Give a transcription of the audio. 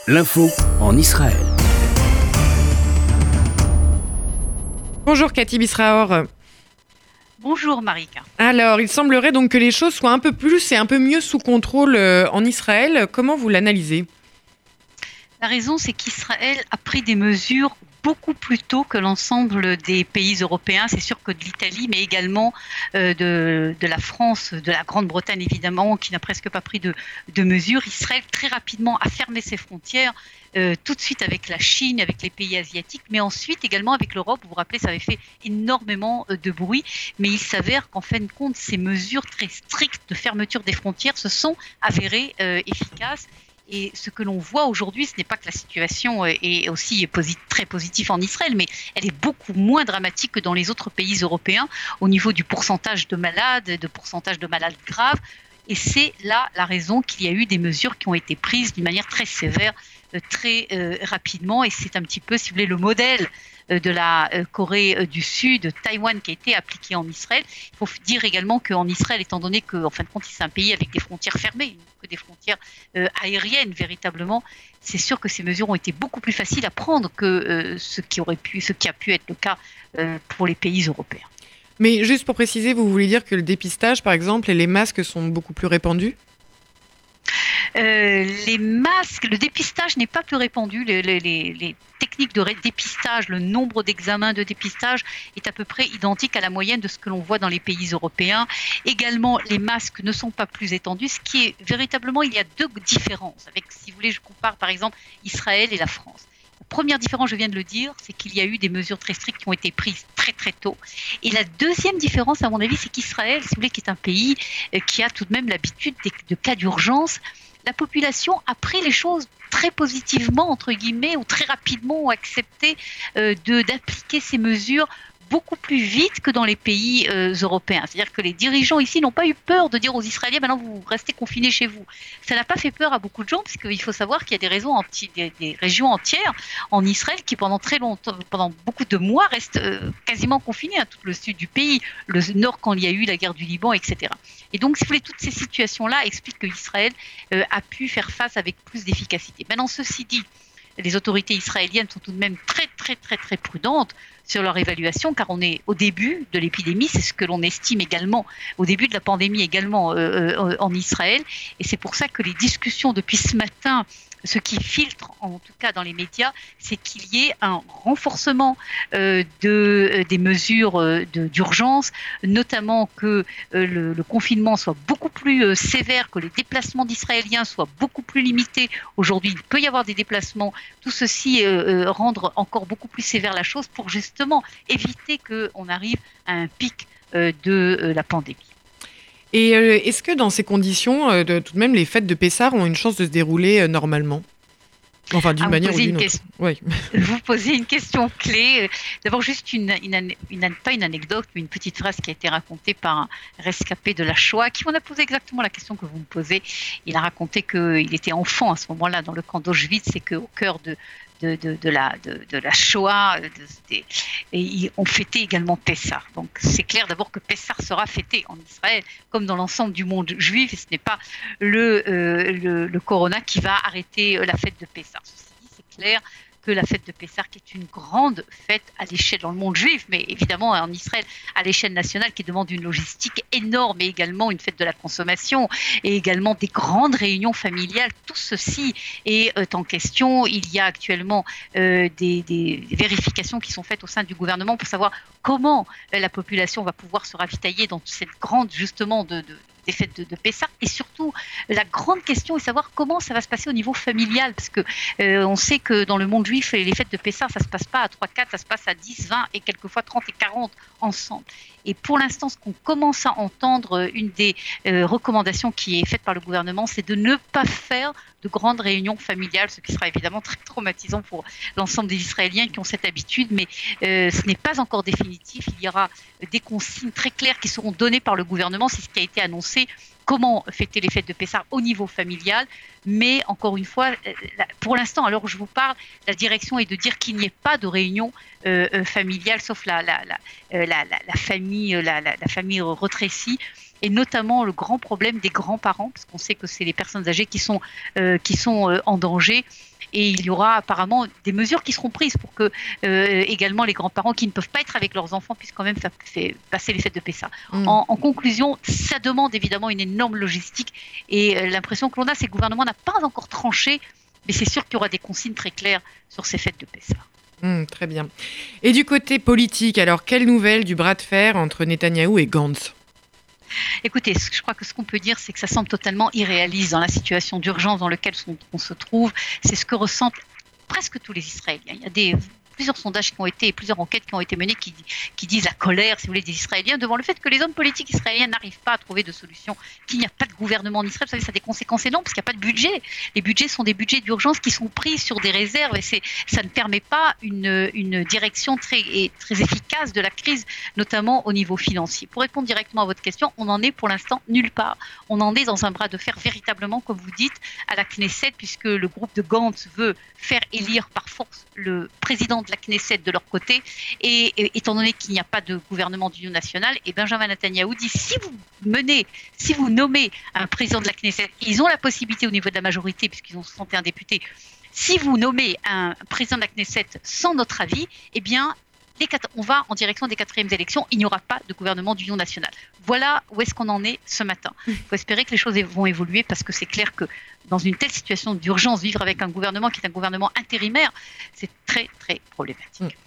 L'info en Israël. Bonjour Cathy Bisraor. Bonjour Marika. Alors, il semblerait donc que les choses soient un peu plus et un peu mieux sous contrôle en Israël. Comment vous l'analysez ? La raison, c'est qu'Israël a pris des mesures beaucoup plus tôt que l'ensemble des pays européens. C'est sûr que de l'Italie, mais également de la France, de la Grande-Bretagne évidemment, qui n'a presque pas pris de mesures. Israël très rapidement a fermé ses frontières, tout de suite avec la Chine, avec les pays asiatiques, mais ensuite également avec l'Europe. Vous vous rappelez, ça avait fait énormément de bruit, mais il s'avère qu'en fin de compte, ces mesures très strictes de fermeture des frontières se sont avérées efficaces. Et ce que l'on voit aujourd'hui, ce n'est pas que la situation est aussi très positive en Israël, mais elle est beaucoup moins dramatique que dans les autres pays européens au niveau du pourcentage de malades, de pourcentage de malades graves. Et c'est là la raison qu'il y a eu des mesures qui ont été prises d'une manière très sévère, très rapidement. Et c'est un petit peu, si vous voulez, le modèle de la Corée du Sud, Taïwan, qui a été appliqué en Israël. Il faut dire également qu'en Israël, étant donné qu'en fin de compte, c'est un pays avec des frontières fermées, que des frontières aériennes véritablement, c'est sûr que ces mesures ont été beaucoup plus faciles à prendre que ce qui a pu être le cas pour les pays européens. Mais juste pour préciser, vous voulez dire que le dépistage, par exemple, et les masques sont beaucoup plus répandus ? Les masques, le dépistage n'est pas plus répandu. Les techniques de dépistage, le nombre d'examens de dépistage est à peu près identique à la moyenne de ce que l'on voit dans les pays européens. Également, les masques ne sont pas plus étendus. Ce qui est véritablement, il y a deux différences. Avec, si vous voulez, je compare par exemple Israël et la France. La première différence, je viens de le dire, c'est qu'il y a eu des mesures très strictes qui ont été prises très très tôt. Et la deuxième différence, à mon avis, c'est qu'Israël, si vous voulez, qui est un pays qui a tout de même l'habitude de cas d'urgence, la population a pris les choses très positivement, entre guillemets, ou très rapidement, ont accepté d'appliquer ces mesures beaucoup plus vite que dans les pays européens. C'est-à-dire que les dirigeants ici n'ont pas eu peur de dire aux Israéliens « maintenant vous restez confinés chez vous ». Ça n'a pas fait peur à beaucoup de gens, parce qu'il faut savoir qu'il y a des régions entières en Israël qui pendant très longtemps, pendant beaucoup de mois, restent quasiment confinées, tout le sud du pays, le nord quand il y a eu la guerre du Liban, etc. Et donc, si vous voulez, toutes ces situations-là expliquent qu'Israël a pu faire face avec plus d'efficacité. Maintenant, ceci dit, les autorités israéliennes sont tout de même très, très, très, très prudentes sur leur évaluation, car on est au début de l'épidémie, c'est ce que l'on estime également, au début de la pandémie également en Israël, et c'est pour ça que les discussions depuis ce matin, ce qui filtre en tout cas dans les médias, c'est qu'il y ait un renforcement des mesures d'urgence, notamment que le confinement soit beaucoup plus sévère, que les déplacements d'Israéliens soient beaucoup plus limités. Aujourd'hui, il peut y avoir des déplacements, tout ceci rendre encore beaucoup plus sévère la chose pour justement éviter qu'on arrive à un pic de la pandémie. Et est-ce que dans ces conditions, tout de même, les fêtes de Pessah ont une chance de se dérouler normalement ? Enfin, d'une manière ou d'une autre. Oui. Vous posez une question clé. D'abord, juste pas une anecdote, mais une petite phrase qui a été racontée par un rescapé de la Shoah, qui m'en a posé exactement la question que vous me posez. Il a raconté qu'il était enfant à ce moment-là dans le camp d'Auschwitz et qu'au cœur de la Shoah, et on fêtait également Pessah. Donc c'est clair d'abord que Pessah sera fêté en Israël, comme dans l'ensemble du monde juif, et ce n'est pas le corona qui va arrêter la fête de Pessah. Ceci dit, c'est clair que la fête de Pessah, qui est une grande fête à l'échelle dans le monde juif, mais évidemment en Israël à l'échelle nationale, qui demande une logistique énorme, et également une fête de la consommation, et également des grandes réunions familiales. Tout ceci est en question. Il y a actuellement des vérifications qui sont faites au sein du gouvernement pour savoir comment la population va pouvoir se ravitailler dans cette grande, justement, des fêtes de Pessah, et surtout la grande question est de savoir comment ça va se passer au niveau familial, parce que on sait que dans le monde juif, les fêtes de Pessah, ça se passe pas à 3-4, ça se passe à 10, 20 et quelquefois 30 et 40 ensemble. Et pour l'instant, ce qu'on commence à entendre, une des recommandations qui est faite par le gouvernement, c'est de ne pas faire de grandes réunions familiales, ce qui sera évidemment très traumatisant pour l'ensemble des Israéliens qui ont cette habitude, mais ce n'est pas encore définitif. Il y aura des consignes très claires qui seront données par le gouvernement, c'est ce qui a été annoncé, comment fêter les fêtes de Pessah au niveau familial. Mais encore une fois, pour l'instant, à l'heure où je vous parle, la direction est de dire qu'il n'y ait pas de réunion familiale, sauf la famille rétrécie, et notamment le grand problème des grands-parents, parce qu'on sait que c'est les personnes âgées qui sont en danger. Et il y aura apparemment des mesures qui seront prises pour que également les grands-parents qui ne peuvent pas être avec leurs enfants puissent quand même faire passer les fêtes de Pessah. En conclusion, ça demande évidemment une énorme logistique et l'impression que l'on a, c'est que le gouvernement n'a pas encore tranché, mais c'est sûr qu'il y aura des consignes très claires sur ces fêtes de Pessah. Très bien. Et du côté politique, alors quelle nouvelle du bras de fer entre Netanyahou et Gantz ? Écoutez, je crois que ce qu'on peut dire, c'est que ça semble totalement irréaliste dans la situation d'urgence dans laquelle on se trouve. C'est ce que ressentent presque tous les Israéliens. Il y a plusieurs sondages qui ont été, plusieurs enquêtes qui ont été menées qui disent la colère, si vous voulez, des Israéliens devant le fait que les hommes politiques israéliens n'arrivent pas à trouver de solution, qu'il n'y a pas de gouvernement en Israël. Vous savez, ça a des conséquences énormes parce qu'il n'y a pas de budget. Les budgets sont des budgets d'urgence qui sont pris sur des réserves et ça ne permet pas une direction très efficace de la crise, notamment au niveau financier. Pour répondre directement à votre question, on en est pour l'instant nulle part. On en est dans un bras de fer véritablement, comme vous dites, à la Knesset, puisque le groupe de Gantz veut faire élire par force le président de la Knesset de leur côté, et étant donné qu'il n'y a pas de gouvernement d'union nationale, et Benjamin Netanyahou dit si vous nommez un président de la Knesset, ils ont la possibilité au niveau de la majorité, puisqu'ils ont 61 députés, si vous nommez un président de la Knesset sans notre avis, eh bien on va en direction des 4e élections, il n'y aura pas de gouvernement d'union nationale. Voilà où est-ce qu'on en est ce matin. Il faut espérer que les choses vont évoluer parce que c'est clair que dans une telle situation d'urgence, vivre avec un gouvernement qui est un gouvernement intérimaire, c'est très, très problématique.